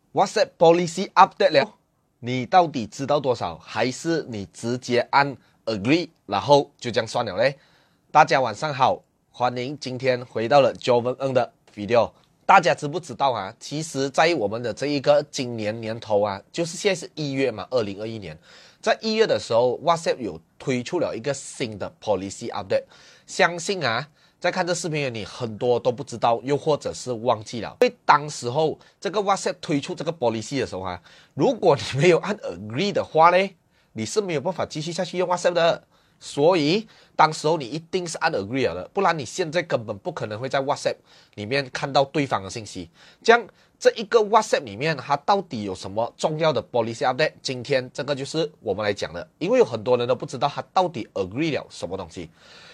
WhatsApp Policy Update 了，你到底知道多少？还是你直接按 Agree， 然后就这样算了嘞？大家晚上好，欢迎今天回到了 Joven Ng 的 video。大家知不知道啊？其实，在我们的这一个今年年头啊，就是现在是1月嘛，2021年，在1月的时候 ，WhatsApp 有推出了一个新的 Policy Update。相信啊，在看这视频的你很多都不知道，又或者是忘记了。因为当时候这个 WhatsApp 推出这个 Policy 的时候啊，如果你没有按 Agree 的话呢，你是没有办法继续下去用 WhatsApp 的。所以当时候你一定是按 Agree 了的，不然你现在根本不可能会在 WhatsApp 里面看到对方的信息。这样这一个 WhatsApp 里面它到底有什么重要的 Policy Update？ 今天这个就是我们来讲的，因为有很多人都不知道它到底 Agree 了什么东西。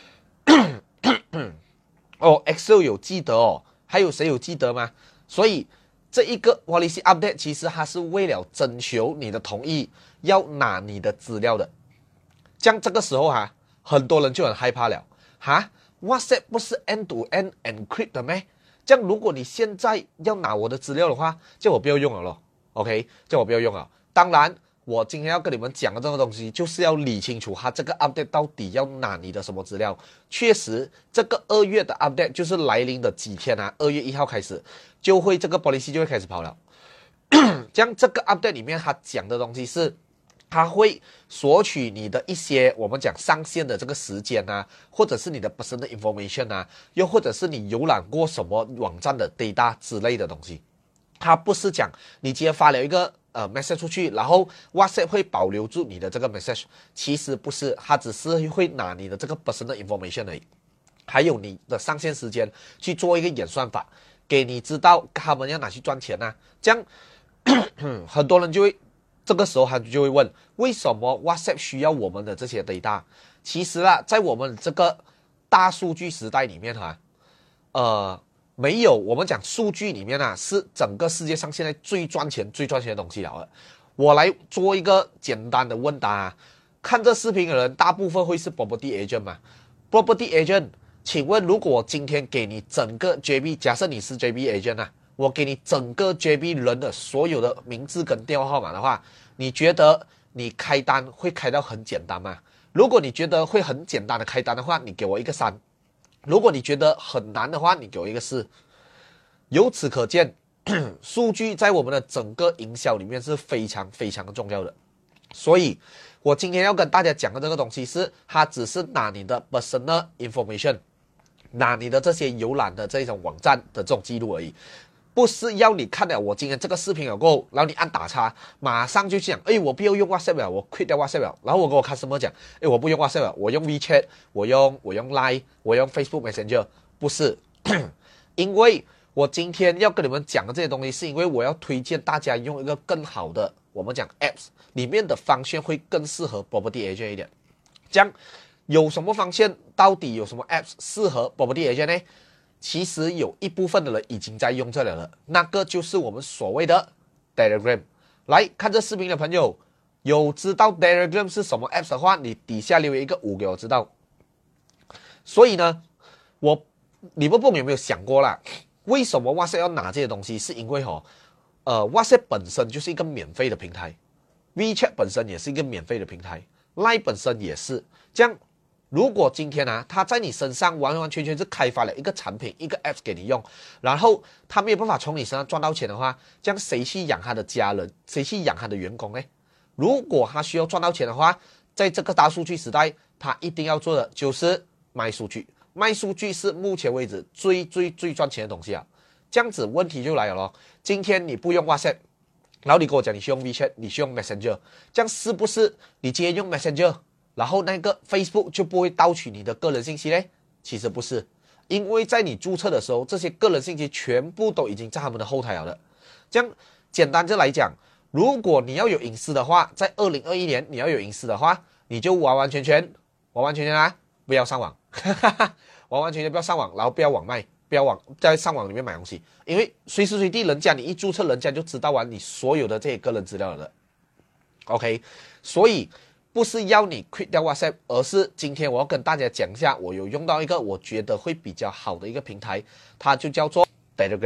哦 ，Excel 有记得哦，还有谁有记得吗？所以这一个 Policy Update 其实它是为了征求你的同意，要拿你的资料的。像这个时候啊，很多人就很害怕了哈 ，WhatsApp 不是 end-to-end encrypt 的咩？这样如果你现在要拿我的资料的话，叫我不要用了咯 ，OK？ 叫我不要用了。当然，我今天要跟你们讲的这个东西，就是要理清楚它这个 update 到底要拿你的什么资料。确实，这个2月的 update 就是来临的几天啊，2月1号开始，就会这个 policy 就会开始跑了。这样这个 update 里面它讲的东西是，它会索取你的一些我们讲上线的这个时间啊，或者是你的 personal information 啊，又或者是你浏览过什么网站的 data 之类的东西。它不是讲你直接发了一个message 出去，然后 WhatsApp 会保留住你的这个 message， 其实不是，它只是会拿你的这个 personal information 而已，还有你的上线时间去做一个演算法，给你知道他们要拿去赚钱啊。这样很多人就会这个时候他就会问，为什么 WhatsApp 需要我们的这些 data？ 其实啊，在我们这个大数据时代里面没有，我们讲数据里面啊，是整个世界上现在最赚钱的东西了。我来做一个简单的问答啊，看这视频的人大部分会是 property agent 嘛 ？property agent， 请问如果我今天给你整个 JB， 假设你是 JB agent 啊，我给你整个 JB 人的所有的名字跟电话号码的话，你觉得你开单会开到很简单吗？如果你觉得会很简单的开单的话，你给我一个3。如果你觉得很难的话，你给我一个4。由此可见，数据在我们的整个营销里面是非常非常的重要的。所以我今天要跟大家讲的这个东西是，它只是拿你的 personal information， 拿你的这些浏览的这种网站的这种记录而已，不是要你看了我今天这个视频了过后，然后你按打叉，马上就讲，我不要用 WhatsApp 了，我 quit 掉 WhatsApp 了，然后我跟我 customer 讲，我不用 WhatsApp 了，我用 WeChat， 我用 Line， 我用 Facebook Messenger， 不是，因为我今天要跟你们讲的这些东西，是因为我要推荐大家用一个更好的，我们讲 apps 里面的方向会更适合 property agent 一点。这样有什么方向？到底有什么 apps 适合 property agent 呢？其实有一部分的人已经在用这了，那个就是我们所谓的 Telegram。来看这视频的朋友，有知道 Telegram 是什么 apps 的话，你底下留言一个5给我知道。所以呢，你们有没有想过啦？为什么 WhatsApp 要拿这些东西？是因为WhatsApp 本身就是一个免费的平台 ，WeChat 本身也是一个免费的平台 ，Line 本身也是。这样，如果今天啊，他在你身上完完全全是开发了一个产品、一个 App 给你用，然后他没有办法从你身上赚到钱的话，这样谁去养他的家人？谁去养他的员工呢？如果他需要赚到钱的话，在这个大数据时代，他一定要做的就是卖数据。卖数据是目前为止最赚钱的东西啊！这样子问题就来了咯。今天你不用 WhatsApp， 然后你跟我讲你去用 WeChat， 你去用 Messenger， 这样是不是你今天用 Messenger， 然后那个 Facebook 就不会盗取你的个人信息呢？其实不是，因为在你注册的时候，这些个人信息全部都已经在他们的后台了。这样简单就来讲，如果你要有隐私的话，在2021年你要有隐私的话，你就完完全全啊，不要上网。完完全全不要上网，然后不要网卖，不要在上网里面买东西，因为随时随地人家你一注册，人家就知道完你所有的这些个人资料了。OK， 所以不是要你 quit 掉 WhatsApp， 而是今天我要跟大家讲一下，我有用到一个我觉得会比较好的一个平台，它就叫做 Telegram。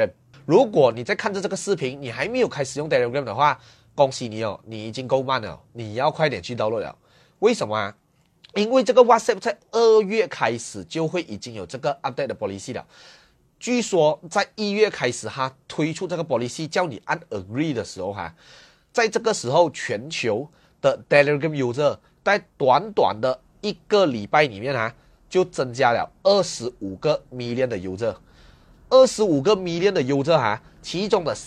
如果你在看着这个视频，你还没有开始用 Telegram 的话，恭喜你哦，你已经够慢了，你要快点去 download 了。为什么啊？因为这个 WhatsApp 在2月开始就会已经有这个 update 的 policy 了。据说在1月开始，它推出这个 policy 叫你按 agree 的时候在这个时候，全球的 Telegram user 在短短的1个礼拜里面就增加了25个 million 的 user。25个 million 的 user其中的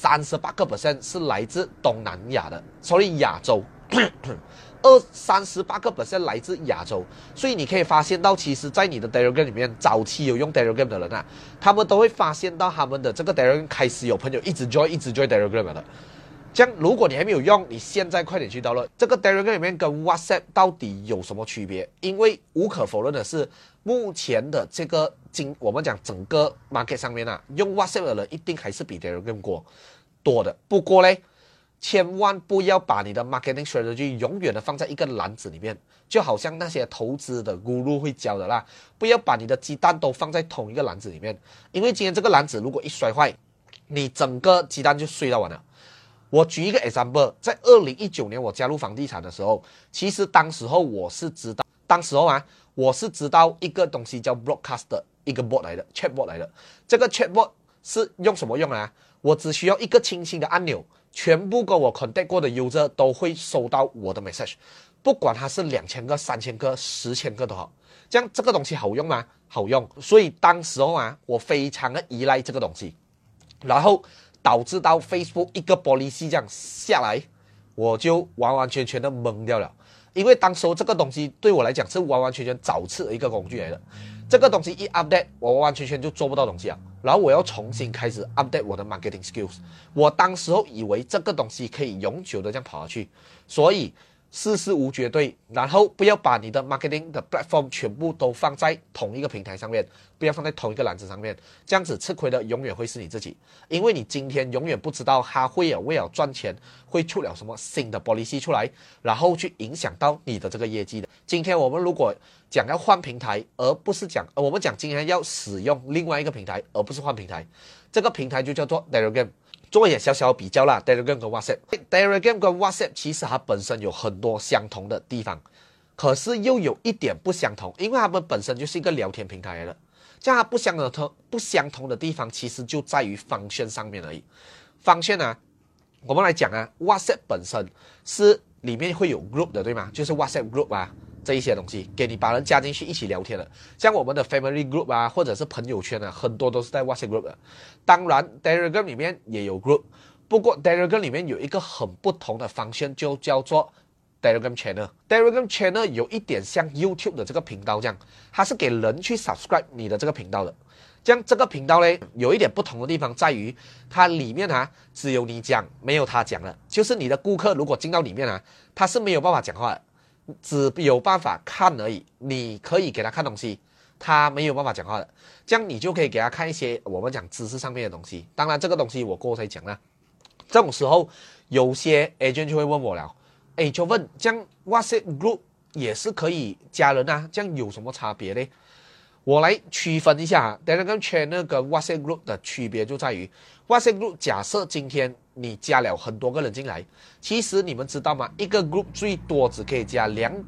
38% 是来自东南亚的，所以亚洲。38% 来自亚洲，所以你可以发现到，其实在你的 Telegram 里面，早期有用 Telegram 的人他们都会发现到他们的这个 Telegram 开始有朋友一直 join Telegram 的。这样，如果你还没有用，你现在快点去download。这个 Telegram 里面跟 WhatsApp 到底有什么区别？因为无可否认的是，目前的这个我们讲整个 market 上面用 WhatsApp 的人一定还是比 Telegram 多的。不过嘞，千万不要把你的 marketing strategy 永远的放在一个篮子里面，就好像那些投资的 guru 会教的啦，不要把你的鸡蛋都放在同一个篮子里面，因为今天这个篮子如果一摔坏，你整个鸡蛋就碎到完了。我举一个 example， 在2019年我加入房地产的时候，其实当时候我是知道一个东西叫 broadcast 的一个 bot 来的 chatbot 来的。这个 chatbot 是用什么用我只需要一个轻轻的按钮，全部跟我 contact 过的 user 都会收到我的 message， 不管它是2000个、3000个、10,000个都好。这样这个东西好用吗？好用。所以当时候我非常的依赖这个东西，然后导致到 Facebook 一个 policy 这样下来，我就完完全全的懵掉了。因为当时候这个东西对我来讲是完完全全找刺的一个工具来的。这个东西一 update， 我完完全全就做不到东西了。然后我要重新开始 update 我的 marketing skills。我当时候以为这个东西可以永久的这样跑下去，所以事事无绝对，然后不要把你的 marketing 的 platform 全部都放在同一个平台上面，不要放在同一个篮子上面，这样子吃亏的永远会是你自己，因为你今天永远不知道它会为了赚钱会出了什么新的 policy 出来，然后去影响到你的这个业绩的。今天我们如果讲要换平台，而不是我们讲今天要使用另外一个平台，而不是换平台，这个平台就叫做 Telegram。做一点小小的比较啦 ，Telegram 跟 WhatsApp。Telegram 跟 WhatsApp 其实它本身有很多相同的地方，可是又有一点不相同，因为它们本身就是一个聊天平台来的。这样它不相同的地方，其实就在于function上面而已。function我们来讲WhatsApp 本身是里面会有 group 的，对吗？就是 WhatsApp group这一些东西，给你把人加进去一起聊天的，像我们的 family group或者是朋友圈很多都是在 WhatsApp group 的。当然 Telegram 里面也有 group， 不过 Telegram 里面有一个很不同的function，就叫做 Telegram Channel。Telegram Channel 有一点像 YouTube 的这个频道这样，它是给人去 subscribe 你的这个频道的。这样这个频道呢，有一点不同的地方在于，它里面只有你讲，没有他讲的，就是你的顾客如果进到里面他是没有办法讲话的。只有办法看而已，你可以给他看东西，他没有办法讲话的，这样你就可以给他看一些我们讲知识上面的东西。当然这个东西我过后才讲啦。这种时候有些 agent 就会问我了，就问这样 WhatsApp group 也是可以加人这样有什么差别呢？我来区分一下Telegram Channel 跟 WhatsApp Group 的区别就在于 WhatsApp Group 假设今天你加了很多个人进来，其实你们知道吗？一个 group 最多只可以加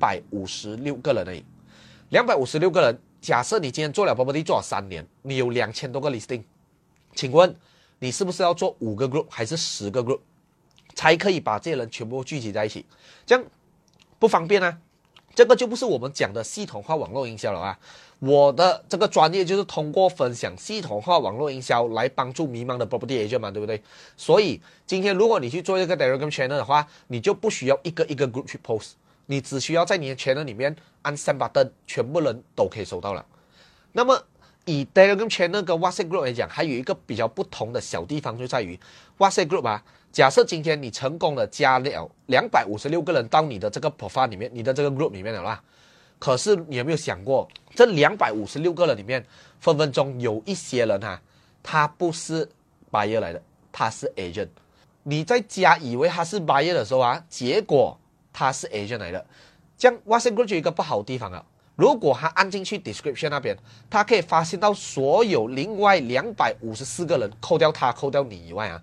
256个人而已。256个人，假设你今天做了 property 做了3年，你有2000多个 listing， 请问你是不是要做5个 group 还是10个 group 才可以把这些人全部聚集在一起？这样不方便这个就不是我们讲的系统化网络营销了我的这个专业就是通过分享系统化网络营销来帮助迷茫的 property agent 嘛，对不对？所以今天如果你去做一个 Telegram channel 的话，你就不需要一个 group 去 post， 你只需要在你的 channel 里面按 send button， 全部人都可以收到了。那么以 Telegram channel 跟 WhatsApp group 来讲，还有一个比较不同的小地方就在于 WhatsApp group假设今天你成功的加了256个人到你的这个 profile 里面，你的这个 group 里面了啦。可是你有没有想过，这256个人里面，分分钟有一些人他不是 buyer 来的，他是 agent。你在加以为他是 buyer 的时候结果他是 agent 来的。这样 WhatsApp group 就有一个不好的地方如果他按进去 description 那边，他可以发现到所有另外254个人，扣掉他，扣掉你以外啊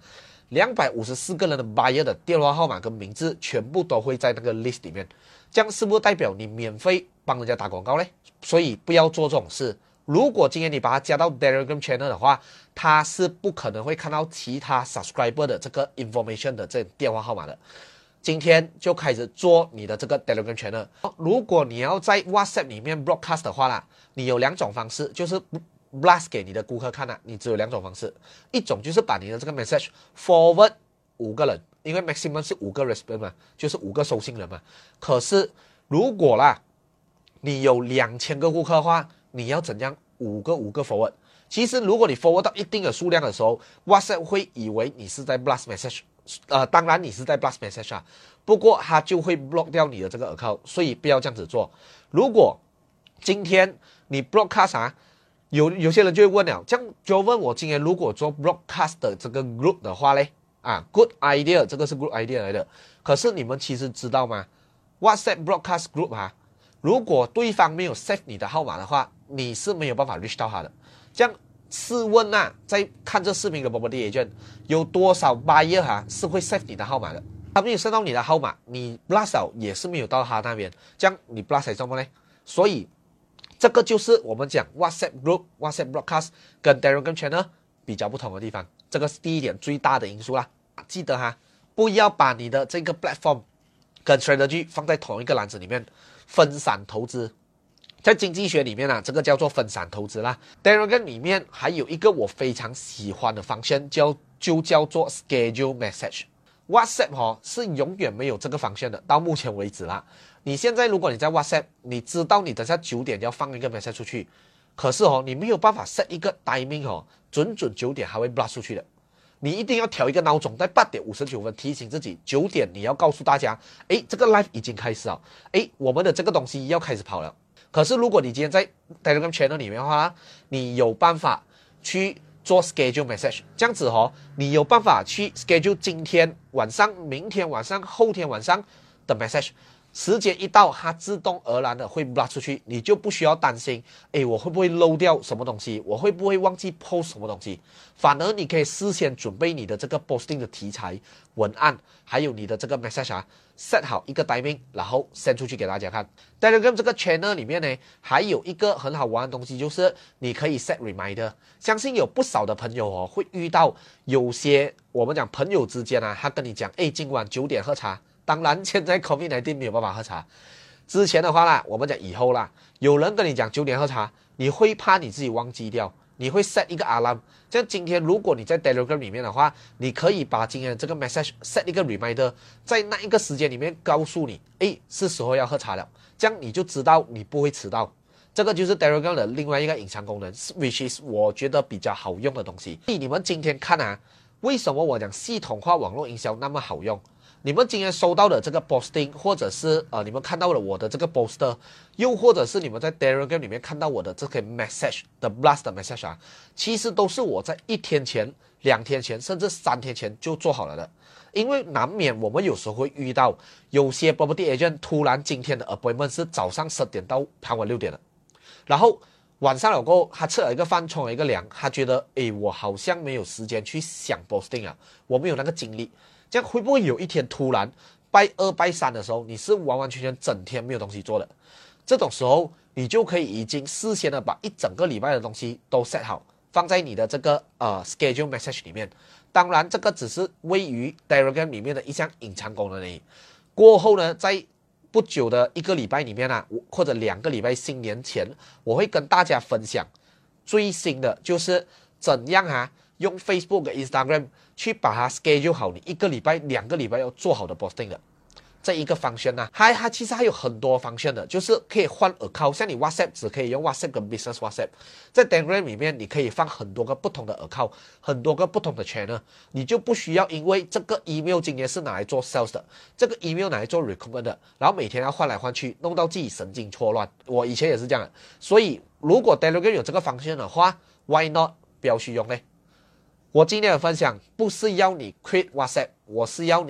，254个人的 buyer 的电话号码跟名字全部都会在那个 list 里面。这样是不是代表你免费帮人家打广告呢？所以不要做这种事。如果今天你把他加到 Telegram Channel 的话，他是不可能会看到其他 subscriber 的这个 information 的这电话号码的。今天就开始做你的这个 Telegram Channel。如果你要在 WhatsApp 里面 broadcast 的话啦，你有2种方式，就是 blast 给你的顾客看啦。你只有2种方式，一种就是把你的这个 message forward 5个人，因为 maximum 是5个 respond 嘛，就是5个收信人嘛。可是如果啦，你有2000个顾客的话，你要怎样5个 forward？ 其实如果你 forward 到一定的数量的时候 ，WhatsApp 会以为你是在 blast message。当然你是在 blast message 啊，不过它就会 block 掉你的这个 account， 所以不要这样子做。如果今天你 broadcast 啊，有些人就会问了，这样就问我今天如果做 broadcast 的这个 group 的话嘞，啊 ，good idea， 这个是 good idea 来的。可是你们其实知道吗 ？WhatsApp broadcast group 啊，如果对方没有 save 你的号码的话，你是没有办法 reach 到他的。这样。试问啊，在看这视频的 property agent 有多少 buyer 是会 save 你的号码的？他没有 save 到你的号码，你 blast 也是没有到他那边，这样你 blast 什么呢？所以这个就是我们讲 WhatsApp group、WhatsApp broadcast 跟 Telegram channel 比较不同的地方，这个是第一点最大的因素啦。记得哈，不要把你的这个 platform 跟 strategy 放在同一个篮子里面，分散投资。在经济学里面啊，这个叫做分散投资啦。Telegram 里面还有一个我非常喜欢的方向，就叫做 schedule message。WhatsApp 是永远没有这个方向的，到目前为止啦。你现在如果你在 WhatsApp， 你知道你等下9点要放一个 message 出去，可是你没有办法 set 一个 timing 准9点还会 blast 出去的。你一定要调一个闹钟，在8点59分提醒自己，9点你要告诉大家，这个 live 已经开始了，我们的这个东西要开始跑了。可是如果你今天在 Telegram Channel 里面的话，你有办法去做 schedule message， 这样子你有办法去 schedule 今天晚上、明天晚上、后天晚上的 message， 时间一到，它自动而然的会 blast 出去，你就不需要担心，我会不会漏掉什么东西，我会不会忘记 post 什么东西，反而你可以事先准备你的这个 posting 的题材、文案，还有你的这个 message set 好一个 timing， 然后 send 出去给大家看。Telegram 这个 channel 里面呢，还有一个很好玩的东西，就是你可以 set reminder。相信有不少的朋友会遇到有些我们讲朋友之间他跟你讲，今晚9点喝茶。当然现在 COVID-19 没有办法喝茶。之前的话啦，我们讲以后啦，有人跟你讲9点喝茶，你会怕你自己忘记掉。你会 set 一个 alarm， 这样今天如果你在 Telegram 里面的话，你可以把今天的这个 message set 一个 reminder， 在那一个时间里面告诉你，是时候要喝茶了，这样你就知道你不会迟到。这个就是 Telegram 的另外一个隐藏功能 ，which is 我觉得比较好用的东西。所以你们今天看为什么我讲系统化网络营销那么好用？你们今天收到的这个 posting， 或者是你们看到了我的这个 poster， 又或者是你们在 Telegram 里面看到我的这个 message 的 blast message 其实都是我在1天前、2天前，甚至3天前就做好了的。因为难免我们有时候会遇到有些 property agent 突然今天的 appointment 是早上10点到傍晚6点的，然后晚上了过后，他吃了一个饭，冲了一个凉，他觉得我好像没有时间去想 posting 啊，我没有那个精力。这样会不会有一天突然拜2、拜3的时候，你是完完全全整天没有东西做的？这种时候，你就可以已经事先的把一整个礼拜的东西都 set 好，放在你的这个schedule message 里面。当然，这个只是位于 Telegram 里面的一项隐藏功能而已。过后呢，在不久的1个礼拜里面或者2个礼拜新年前，我会跟大家分享最新的，就是怎样用 Facebook 跟 Instagram 去把它 schedule 好，你1个礼拜、2个礼拜要做好的 posting 的这一个方向它其实还有很多方向的，就是可以换 account， 像你 WhatsApp 只可以用 WhatsApp 跟 Business WhatsApp， 在 Telegram 里面你可以放很多个不同的 account， 很多个不同的 channel， 你就不需要因为这个 email 今天是拿来做 sales 的，这个 email 拿来做 recommend 的，然后每天要换来换去，弄到自己神经错乱。我以前也是这样的，所以如果 Telegram 有这个方向的话 ，Why not 不要去用呢？我今天的分享不是要你 quit WhatsApp， 我是要你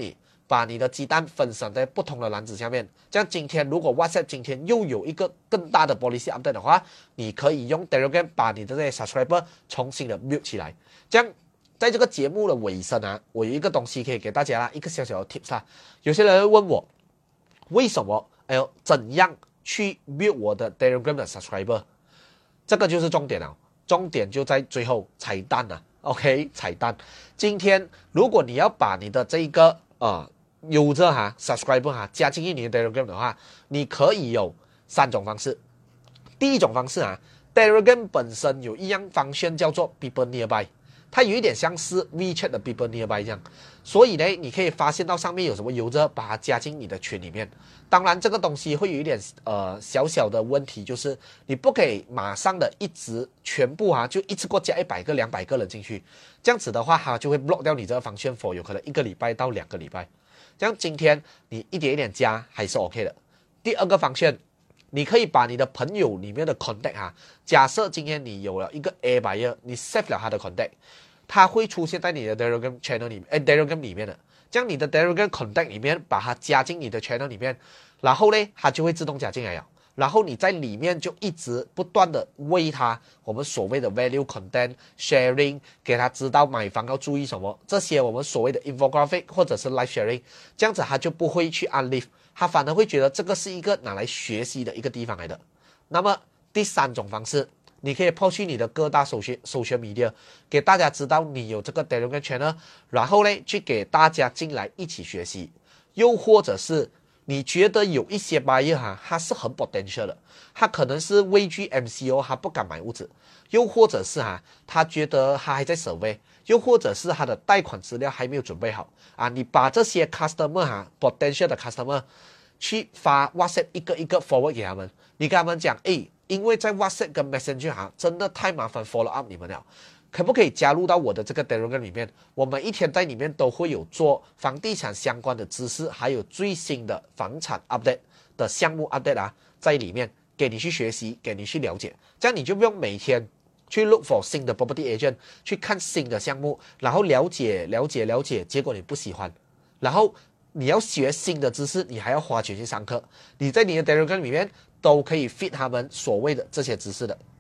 把你的鸡蛋分散在不同的篮子下面。这样今天如果 WhatsApp 今天又有一个更大的 policy update 的话，你可以用 Telegram 把你的这些 subscriber 重新的 build 起来。这样在这个节目的尾声啊，我有一个东西可以给大家一个小小的 tips 啊。有些人会问我，为什么怎样去 build 我的 Telegram 的 subscriber？ 这个就是重点了，重点就在最后彩蛋了。OK， 彩蛋。今天如果你要把你的这一个user subscriber 加进去你的 Telegram 的话，你可以有3种方式。第一种方式Telegram 本身有一样function叫做 People Nearby， 它有一点像是 WeChat 的 People Nearby 这样，所以呢，你可以发现到上面有什么user，把它加进你的群里面。当然，这个东西会有一点小小的问题，就是你不可以马上的一直全部就一次过加100个、200个人进去，这样子的话，它就会 block 掉你这个function for 有可能1个礼拜到2个礼拜。这样今天你一点一点加还是 OK 的。第二个function，你可以把你的朋友里面的 contact假设今天你有了一个 A buyer， 你 save 了他的 contact， 他会出现在你的 Telegram channel 里面，Telegram 里面的。这样你的 Telegram contact 里面把它加进你的 channel 里面，然后呢，它就会自动加进来了。然后你在里面就一直不断的喂他我们所谓的 value content sharing， 给他知道买房要注意什么，这些我们所谓的 infographic 或者是 live sharing， 这样子他就不会去 unleash， 他反而会觉得这个是一个拿来学习的一个地方来的。那么第3种方式，你可以抛去你的各大social media， 给大家知道你有这个 Telegram channel， 然后呢去给大家进来一起学习。又或者是你觉得有一些 buyer 他是很 potential 的，他可能是畏惧 MCO， 他不敢买屋子，又或者是他觉得他还在 survey， 又或者是他的贷款资料还没有准备好你把这些 customer potential 的 customer 去发 WhatsApp 一个一个 forward 给他们，你跟他们讲因为在 WhatsApp 跟 Messenger 真的太麻烦 follow up 你们了，可不可以加入到我的这个 Telegram 里面？我们一天在里面都会有做房地产相关的知识，还有最新的房产 update 的项目 update 在里面给你去学习，给你去了解，这样你就不用每天去 look for 新的 property agent 去看新的项目，然后了解，结果你不喜欢，然后你要学新的知识，你还要花钱去上课，你在你的 Telegram 里面都可以 fit 他们所谓的这些知识的。